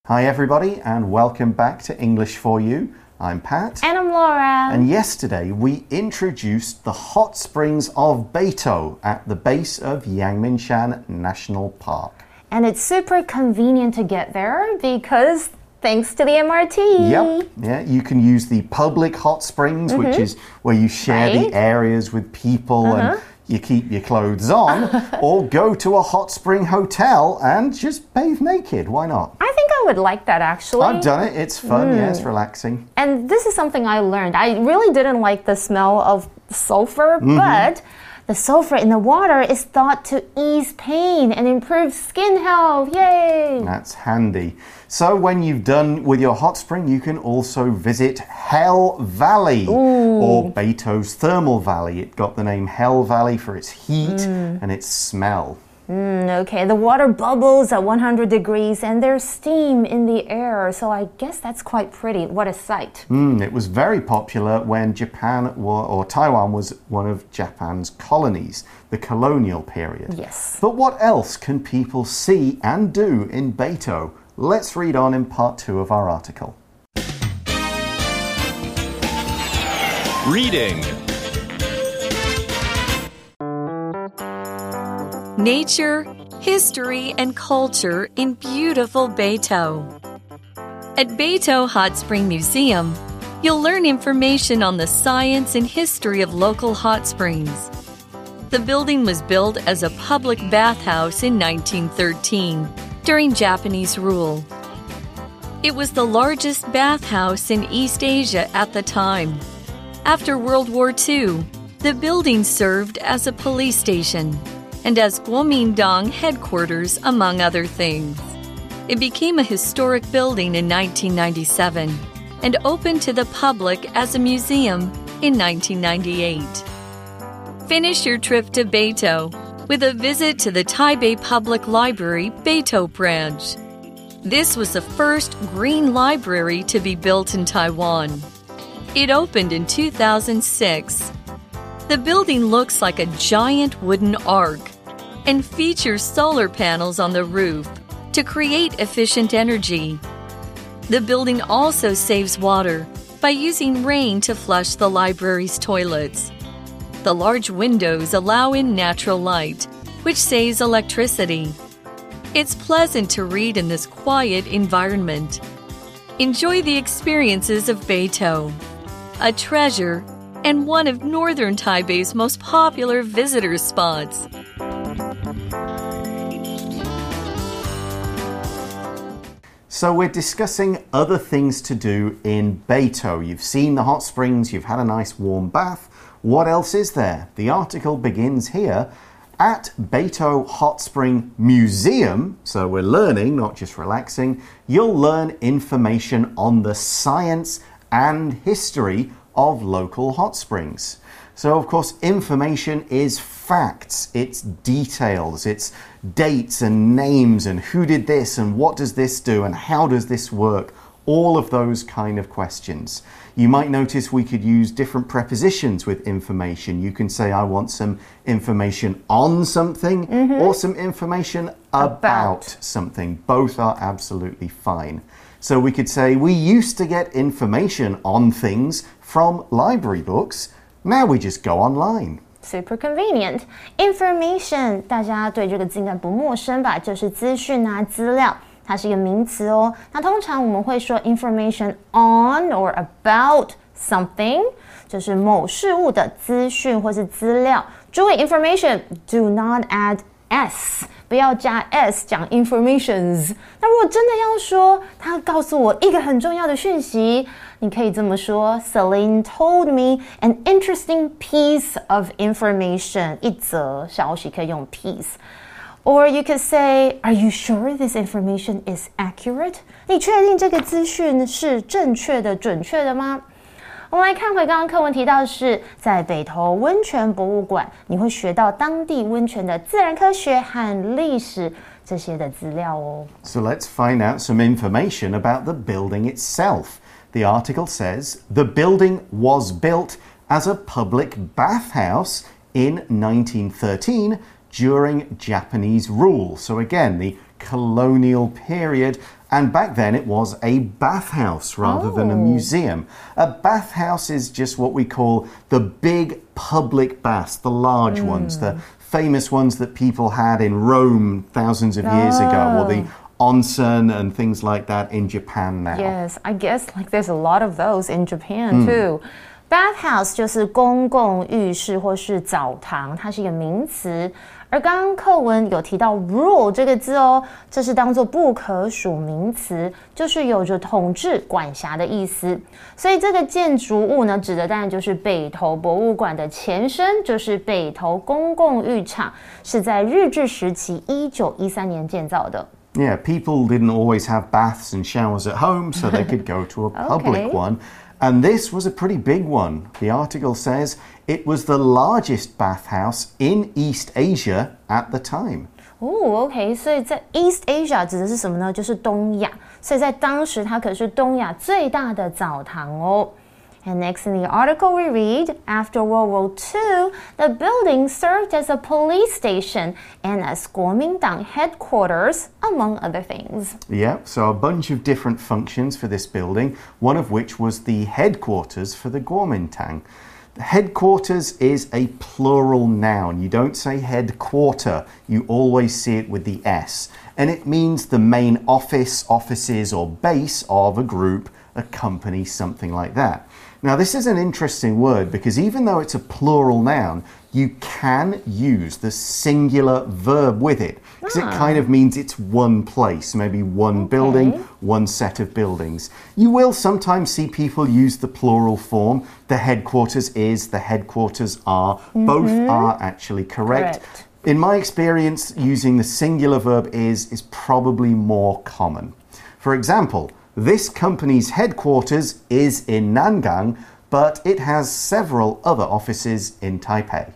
Hi everybody and welcome back to English for You. I'm Pat. And I'm Laura. And yesterday we introduced the hot springs of Beito at the base of Yangmingshan National Park. And it's super convenient to get there because thanks to the MRT. Yep. Yeah, you can use the public hot springs, which is where you share the areas with people and you keep your clothes on, or go to a hot spring hotel and just bathe naked. Why not? I think I would like that actually. I've done it. It's fun. Yeah, it's relaxing. And this is something I learned. I really didn't like the smell of sulfur, but the sulfur in the water is thought to ease pain and improve skin health. Yay! That's handy. So when you've done with your hot spring, you can also visit Hell Valley or Beito's Thermal Valley. It got the name Hell Valley for its heat and its smell. Okay, the water bubbles at 100 degrees and there's steam in the air, so I guess that's quite pretty. What a sight. It was very popular when Taiwan was one of Japan's colonies, the colonial period. Yes. But what else can people see and do in Beito? Let's read on in part 2 of our article. Reading. Nature, history, and culture in beautiful Beito. At Beito Hot Spring Museum, you'll learn information on the science and history of local hot springs. The building was built as a public bathhouse in 1913 during Japanese rule. It was the largest bathhouse in East Asia at the time. After World War II, the building served as a police station and as Guomindang headquarters, among other things. It became a historic building in 1997 and opened to the public as a museum in 1998. Finish your trip to Beito with a visit to the Taipei Public Library Beito branch. This was the first green library to be built in Taiwan. It opened in 2006. The building looks like a giant wooden ark and features solar panels on the roof to create efficient energy. The building also saves water by using rain to flush the library's toilets. The large windows allow in natural light, which saves electricity. It's pleasant to read in this quiet environment. Enjoy the experiences of Beito, a treasure and one of northern Taipei's most popular visitor spots. So we're discussing other things to do in Beito. You've seen the hot springs, you've had a nice warm bath. What else is there? The article begins here. At Beito Hot Spring Museum, so we're learning, not just relaxing, you'll learn information on the science and history of local hot springs. So, of course, information is facts, it's details, it's dates and names and who did this and what does this do and how does this work, all of those kind of questions. You might notice we could use different prepositions with information. You can say, I want some information on something or some information about something. Both are absolutely fine. So we could say, we used to get information on things from library books. Now we just go online. Super convenient. Information, 大家对这个字应该不陌生吧？就是资讯啊、资料。它是一个名詞哦。那通常我們會說 information on or about something， 就是某事物的資訊或是資料。注意 information do not add s， 不要加 s 講 informations。那如果真的要說，他告訴我一個很重要的訊息，你可以這麼說 Celine told me an interesting piece of information， 一則消息可以用 piece。Or you could say, are you sure this information is accurate? 你確定這個資訊是正確的、準確的嗎？我們來看回剛剛課文提到的是，在北投溫泉博物館，你會學到當地溫泉的自然科學和歷史這些的資料哦。 So let's find out some information about the building itself. The article says, the building was built as a public bathhouse in 1913 during Japanese rule. So again, the colonial period. And back then it was a bathhouse rather than a museum. A bathhouse is just what we call the big public baths, the large ones, the famous ones that people had in Rome thousands of years ago, or the onsen and things like that in Japan now. Yes, I guess like there's a lot of those in Japan too. Bathhouse 就是公共浴室或是澡堂，它是一个名词。而刚刚課文有提到 rule 這個字哦，這是當作不可數名詞，就是有着統治、管轄的意思。所以這個建築物呢，指的當然就是北投博物館的前身，就是北投公共浴場，是在日治時期1913年建造的。 Yeah, people didn't always have baths and showers at home, so they could go to a public one. And this was a pretty big one. The article says it was the largest bathhouse in East Asia at the time. OK, 所以在 East Asia 指的是什么呢？就是东亞，所以在當時它可是東亞最大的澡堂哦。And next in the article we read, after World War II, the building served as a police station and as Kuomintang headquarters, among other things. Yeah, so a bunch of different functions for this building, one of which was the headquarters for the Kuomintang. Headquarters is a plural noun. You don't say headquarter, you always see it with the S. And it means the main office, offices, or base of a group, a company, something like that. Now, this is an interesting word because even though it's a plural noun, you can use the singular verb with it because it kind of means it's one place, maybe one building, one set of buildings. You will sometimes see people use the plural form. The headquarters is, the headquarters are. Both are actually correct. In my experience, using the singular verb is probably more common. For example, this company's headquarters is in Nangang, but it has several other offices in Taipei.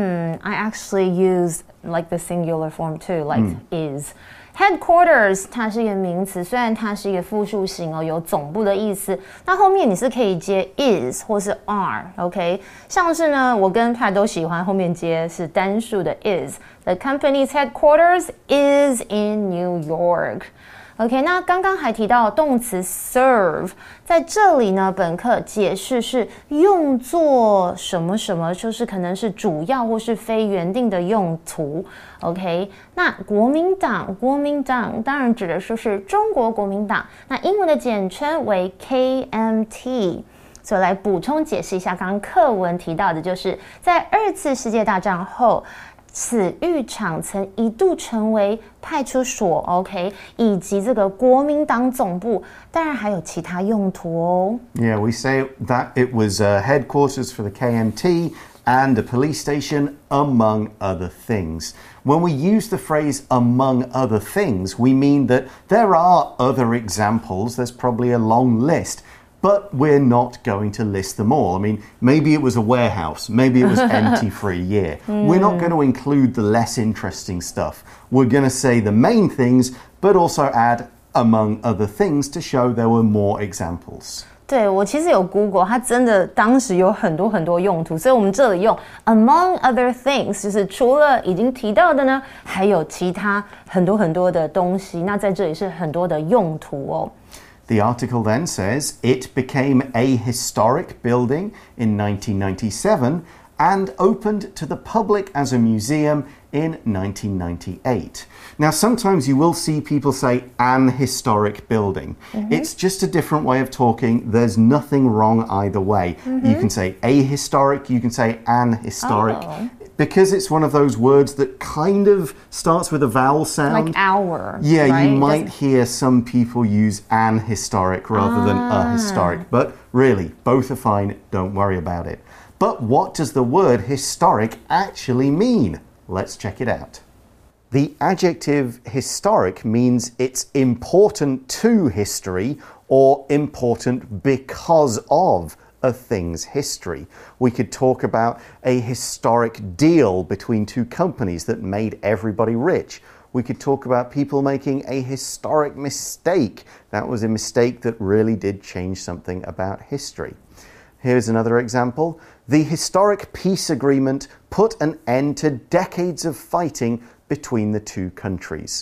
I actually use like the singular form too, like is. Headquarters 它是一個名詞，雖然它是一個複數形哦，有總部的意思。那後面你是可以接 is 或是 are，OK？ 像是呢，我跟Pat都喜歡後面接是單數的 is。The company's headquarters is in New York。OK， 那剛剛還提到動詞 serve， 在這裡呢，本課解釋是用作什麼什麼，就是可能是主要或是非原定的用途。OK， 那國民黨當然指的就是中國國民黨，那英文的簡稱為 KMT。所以來補充解釋一下，剛剛課文提到的就是在2次世界大戰後，此浴場曾一度成為派出所 ，OK， 以及這個國民黨總部，當然還有其他用途哦。 Yeah, we say that it was headquarters for the KMT and a police station, among other things. When we use the phrase among other things, we mean that there are other examples. There's probably a long list. But we're not going to list them all. I mean, maybe it was a warehouse. Maybe it was empty for a year. We're not going to include the less interesting stuff. We're going to say the main things, but also add among other things to show there were more examples. 对，我其實有 Google， 它真的當時有很多很多用途，所以我們這裡用 among other things， 就是除了已經提到的呢，還有其他很多很多的東西。那在這裡是很多的用途哦。 The article then says it became a historic building in 1997 and opened to the public as a museum in 1998. Now, sometimes you will see people say an historic building. It's just a different way of talking. There's nothing wrong either way. You can say a historic, you can say an historic. Because it's one of those words that kind of starts with a vowel sound. Like our. Yeah, right? You might hear some people use an historic rather than a historic. But really, both are fine. Don't worry about it. But what does the word historic actually mean? Let's check it out. The adjective historic means it's important to history or important because of a thing's history. We could talk about a historic deal between two companies that made everybody rich. We could talk about people making a historic mistake. That was a mistake that really did change something about history. Here's another example. The historic peace agreement put an end to decades of fighting between the two countries.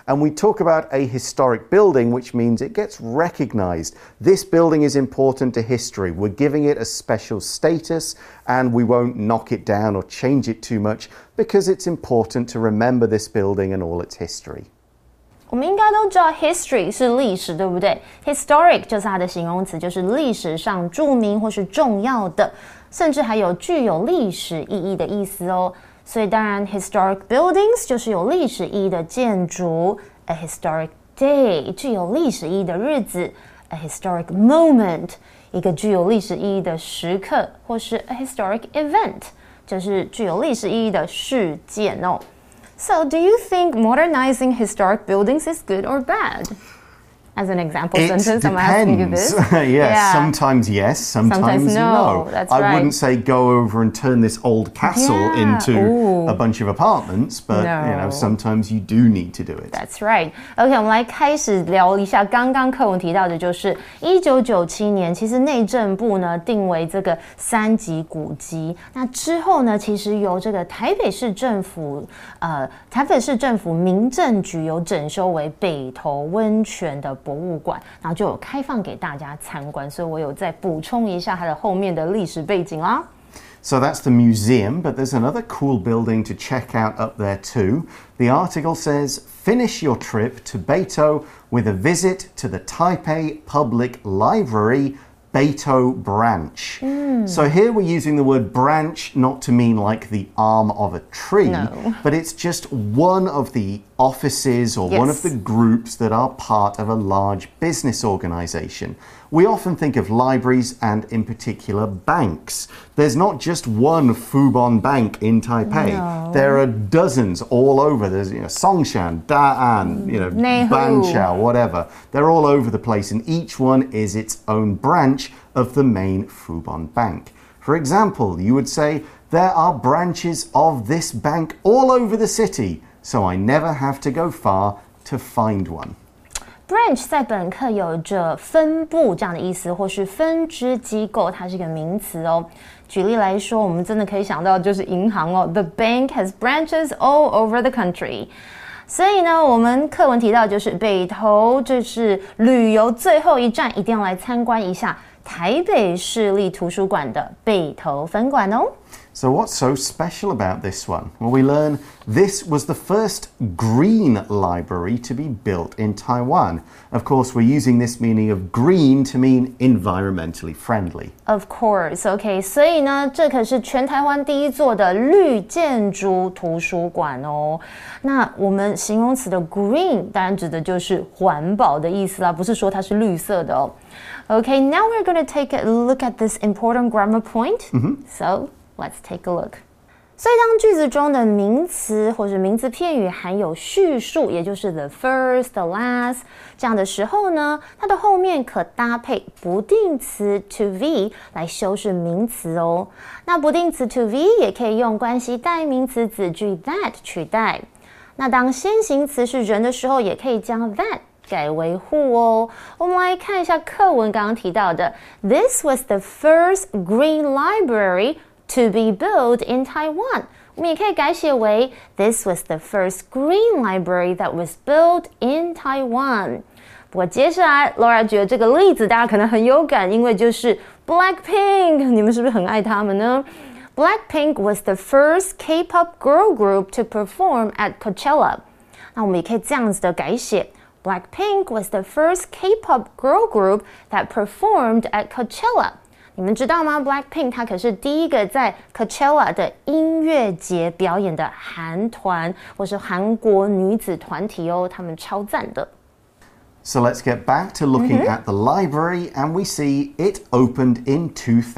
and we talk about a historic building, which means it gets recognized. This building is important to history. We're giving it a special status, and we won't knock it down or change it too much because it's important to remember this building and all its history. 我们应该都知道 history 是历史，对不对？ Historic 就是它的形容词，就是历史上著名或是重要的，甚至还有具有历史意義的意思哦。所以当然 historic buildings 就是有歷史意義的建築 ，a historic day 具有歷史意義的日子 ，a historic moment 一個具有歷史意義的時刻，或是 a historic event 就是具有歷史意義的事件哦。So, do you think modernizing historic buildings is good or bad? As an example sentence, I'm asking you this. Yes, sometimes yes, sometimes no. That's I right. wouldn't say go over and turn this old castle into a bunch of apartments, but sometimes you do need to do it. That's right. OK, 我们来開始聊一下剛剛課文提到的，就是1997年，其實內政部呢定為這個3級古蹟。那之後呢，其實由這個台北市政府民政局有整修為北投溫泉的博物館，然後就有開放給大家參觀，所以我有再補充一下它的後面的歷史背景啦。 So that's the museum, but there's another cool building to check out up there too. The article says, finish your trip to Beito with a visit to the Taipei Public Library, Beito Branch. So here we're using the word branch not to mean like the arm of a tree, but it's just one of the offices or one of the groups that are part of a large business organization. We often think of libraries and in particular banks. There's not just one Fubon Bank in Taipei. There are dozens all over. There's Songshan, Da'an, Banqiao, whatever. They're all over the place, and each one is its own branch of the main Fubon Bank. For example, you would say, there are branches of this bank all over the city, so I never have to go far to find one. Branch 在本課有着分部這樣的意思，或是分支機構，它是一個名詞哦。舉例來說，我們真的可以想到就是銀行哦。The bank has branches all over the country. 所以呢，我們課文提到就是北投，這是旅遊最後一站，一定要來參觀一下台北市立圖書館的北投分館哦。 So what's so special about this one? Well, we learn this was the first green library to be built in Taiwan. Of course, we're using this meaning of green to mean environmentally friendly. Of course, OK. 所以呢，這可是全台灣第一座的綠建築圖書館哦。那我們形容詞的 green 當然指的就是環保的意思啦，不是說它是綠色的哦。OK, now we're going to take a look at this important grammar point. So, let's take a look. 所以当句子中的名詞或是名詞片語含有敘述，也就是 the first, the last 這樣的時候呢，它的後面可搭配不定詞 to be 來修飾名詞哦。那不定詞 to be 也可以用關係代名詞子句 that 取代。那當先行詞是人的時候，也可以將 that改為 who 哦。我們來看一下課文剛剛提到的 This was the first green library to be built in Taiwan. 我們也可以改寫為 This was the first green library that was built in Taiwan. 不過接下來 Laura 覺得這個例子大家可能很有感，因為就是 Blackpink， 你們是不是很愛他們呢？ Blackpink was the first K-pop girl group to perform at Coachella. 那我們也可以這樣子的改寫Blackpink was the first K-pop girl group that performed at Coachella. 你們知道嗎 ？Blackpink 它可是第一個在 Coachella 的音樂節表演的韓團，或是韓國女子團體哦，他們超讚的。 So let's get back to looking at the library, and we see it opened in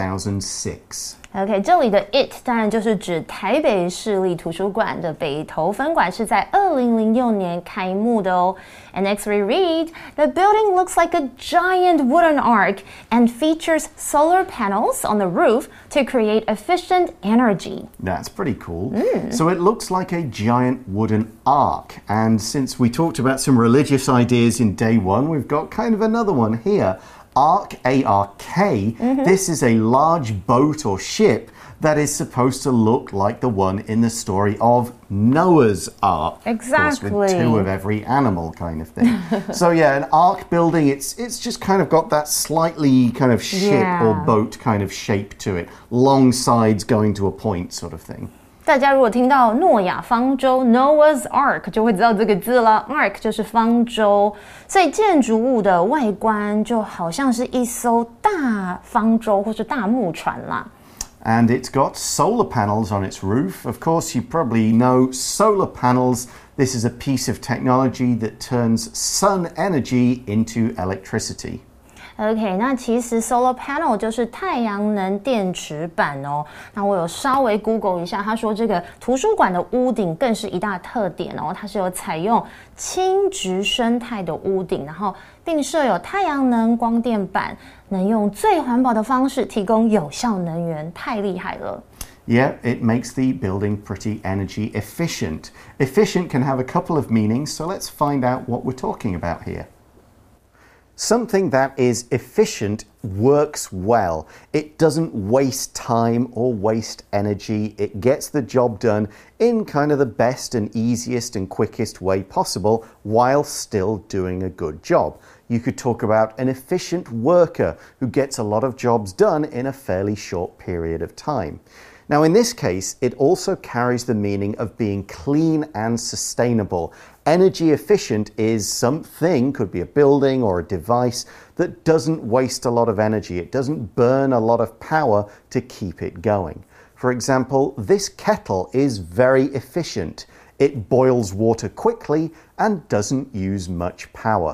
2006. OK, 這裡的 it 當然就是指台北市立圖書館的北投分館是在2006年開幕的哦。And next we read, the building looks like a giant wooden ark and features solar panels on the roof to create efficient energy. That's pretty cool. So it looks like a giant wooden ark. And since we talked about some religious ideas in day one, we've got kind of another one here. Ark, A-R-K, this is a large boat or ship that is supposed to look like the one in the story of Noah's Ark. Exactly. Of course, with 2 of every animal kind of thing. So yeah, an ark building, it's just kind of got that slightly kind of ship or boat kind of shape to it. Long sides going to a point sort of thing. 大家如果听到诺亚方舟 Noah's Ark 就会知道这个字了 Ark 就是方舟，所以建筑物的外观就好像是一艘大方舟或是大木船啦。 And it's got solar panels on its roof. Of course, you probably know solar panels. This is a piece of technology that turns sun energy into electricity. OK， 那其實 solar panel 就是太陽能電池板哦。那我有稍微 Google 一下，他說這個圖書館的屋頂更是一大特點哦，它是有採用輕質生態的屋頂，然後並設有太陽能光電板，能用最環保的方式提供有效能源，太厲害了。 Yeah, it makes the building pretty energy efficient. Efficient can have a couple of meanings, so let's find out what we're talking about here. Something that is efficient works well. It doesn't waste time or waste energy. It gets the job done in kind of the best and easiest and quickest way possible while still doing a good job. You could talk about an efficient worker who gets a lot of jobs done in a fairly short period of time. Now, in this case, it also carries the meaning of being clean and sustainable. Energy efficient is something, could be a building or a device, that doesn't waste a lot of energy. It doesn't burn a lot of power to keep it going. For example, this kettle is very efficient. It boils water quickly and doesn't use much power.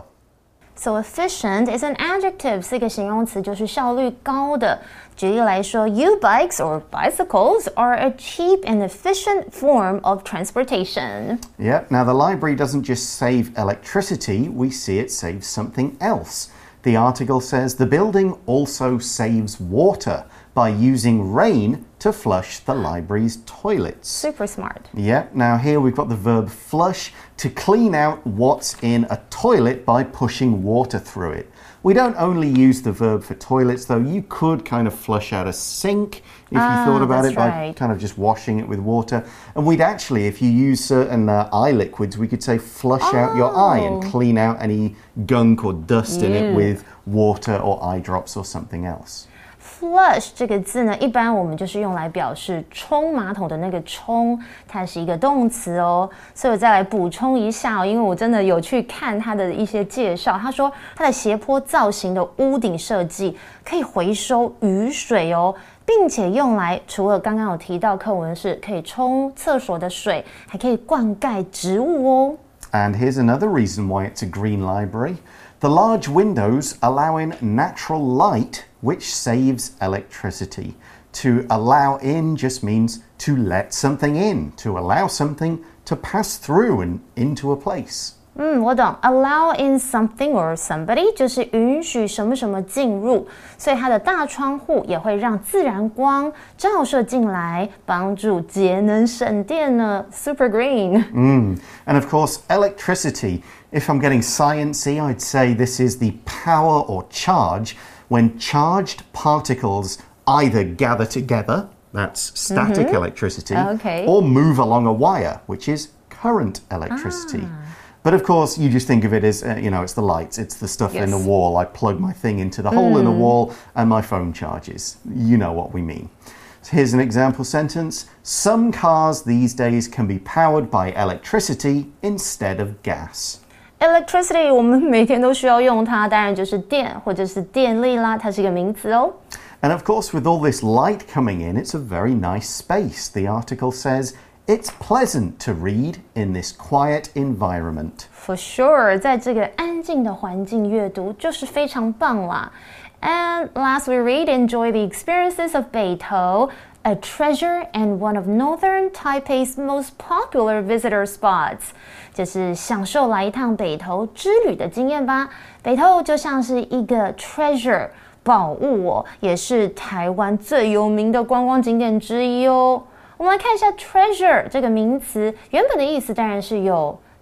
So efficient is an adjective, 是一个形容词，就是效率高的。举例来说 U-bikes or bicycles are a cheap and efficient form of transportation. Yeah, now the library doesn't just save electricity, we see it saves something else. The article says the building also saves water by using rain to flush the library's toilets. Super smart. Yeah, now here we've got the verb flush, to clean out what's in a toilet by pushing water through it. We don't only use the verb for toilets, though. You could kind of flush out a sink if you thought about it by kind of just washing it with water. And we'd actually, if you use certain eye liquids, we could say flush out your eye and clean out any gunk or dust in it with water or eye drops or something else. Flush 这個字呢，一般我們就是用來表示沖馬桶的那個沖，它是一個動詞哦。所以我再來補充一下哦，因為我真的有去看它的一些介紹。他說它的斜坡造型的屋頂設計可以回收雨水哦，並且用來除了剛剛有提到課文是可以沖廁所的水，還可以灌溉植物哦。 And here's another reason why it's a green library. The large windows allow in natural light, which saves electricity. To allow in just means to let something in, to allow something to pass through and into a place. 我懂 allow in something or somebody 就是允許什麼什麼進入，所以它的大窗戶也會讓自然光照射進來，幫助節能省電呢。Super green. And of course, electricity. If I'm getting sciencey, I'd say this is the power or charge when charged particles either gather together, that's static electricity, or move along a wire, which is current electricity. But of course, you just think of it as, it's the lights, it's the stuff in the wall. I plug my thing into the hole in the wall and my phone charges. You know what we mean. So here's an example sentence. Some cars these days can be powered by electricity instead of gas. Electricity 我們每天都需要用它，當然就是電或者是電力啦，它是一個名詞哦。 And of course, with all this light coming in, it's a very nice space. The article says, it's pleasant to read in this quiet environment. For sure, 在這個安靜的環境閱讀就是非常棒啦。And last we read, enjoy the experiences of Beitou, a treasure and one of Northern Taipei's most popular visitor spots. 就是享受來一趟北投之旅的經驗吧。北投就像是一個 treasure 寶物哦，也是台灣最有名的觀光景點之一哦。我們來看一下 treasure 這個名詞，原本的意思當然是有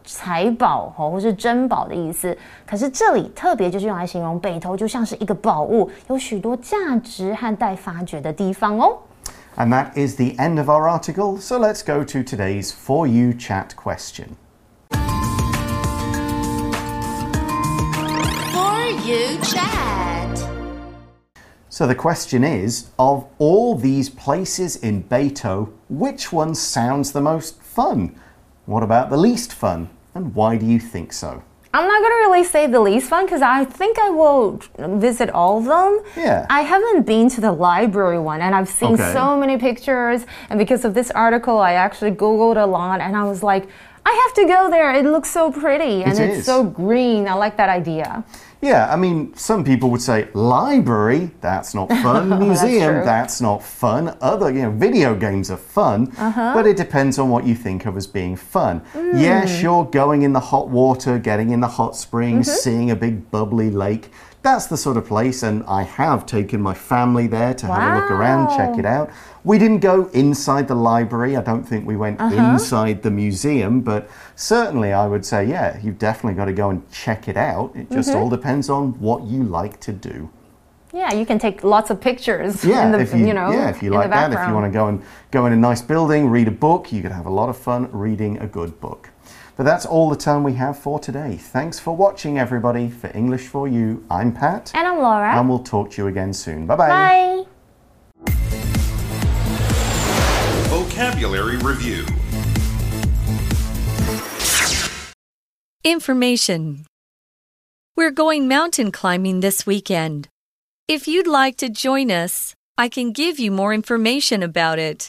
財寶或是珍寶的意思。可是這裡特別就是用來形容北投就像是一個寶物，有許多價值和待發掘的地方哦。 And that is the end of our article, so let's go to today's For You Chat question. For You Chat. So the question is, of all these places in Beito, which one sounds the most fun? What about the least fun? And why do you think so? I'm not going to really say the least fun because I think I will visit all of them. Yeah. I haven't been to the library one and I've seen so many pictures. And because of this article, I actually Googled a lot and I was like, I have to go there. It looks so pretty and it's so green. I like that idea. Yeah, I mean, some people would say library, that's not fun. Museum, that's not fun. Other, video games are fun, but it depends on what you think of as being fun. Yeah, sure, going in the hot water, getting in the hot springs, seeing a big bubbly lake. That's the sort of place, and I have taken my family there to have a look around, check it out. We didn't go inside the library. I don't think we went inside the museum, but certainly I would say, yeah, you've definitely got to go and check it out. It just all depends on what you like to do. Yeah, you can take lots of pictures Yeah, in the, if you like that, if you want to go in a nice building, read a book, you could have a lot of fun reading a good book. But that's all the time we have for today. Thanks for watching, everybody. For English for You, I'm Pat. And I'm Laura. And we'll talk to you again soon. Bye-bye. Bye. Vocabulary Review. Information. We're going mountain climbing this weekend. If you'd like to join us, I can give you more information about it.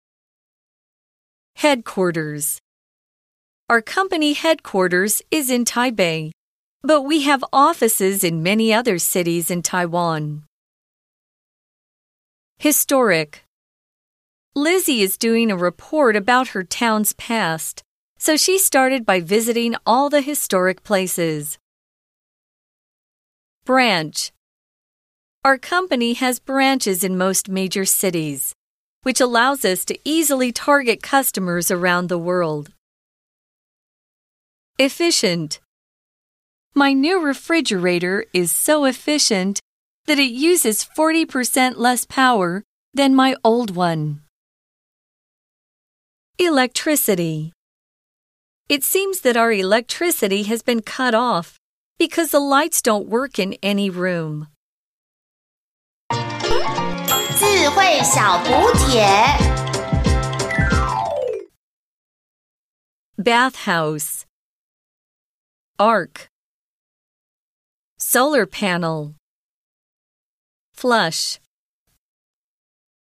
Headquarters. Our company headquarters is in Taipei, but we have offices in many other cities in Taiwan. Historic. Lizzie is doing a report about her town's past, so she started by visiting all the historic places. Branch. Our company has branches in most major cities, which allows us to easily target customers around the world. Efficient. My new refrigerator is so efficient that it uses 40% less power than my old one. Electricity. It seems that our electricity has been cut off because the lights don't work in any room. 智慧小补帖 Bathhouse. Arc. Solar panel. Flush.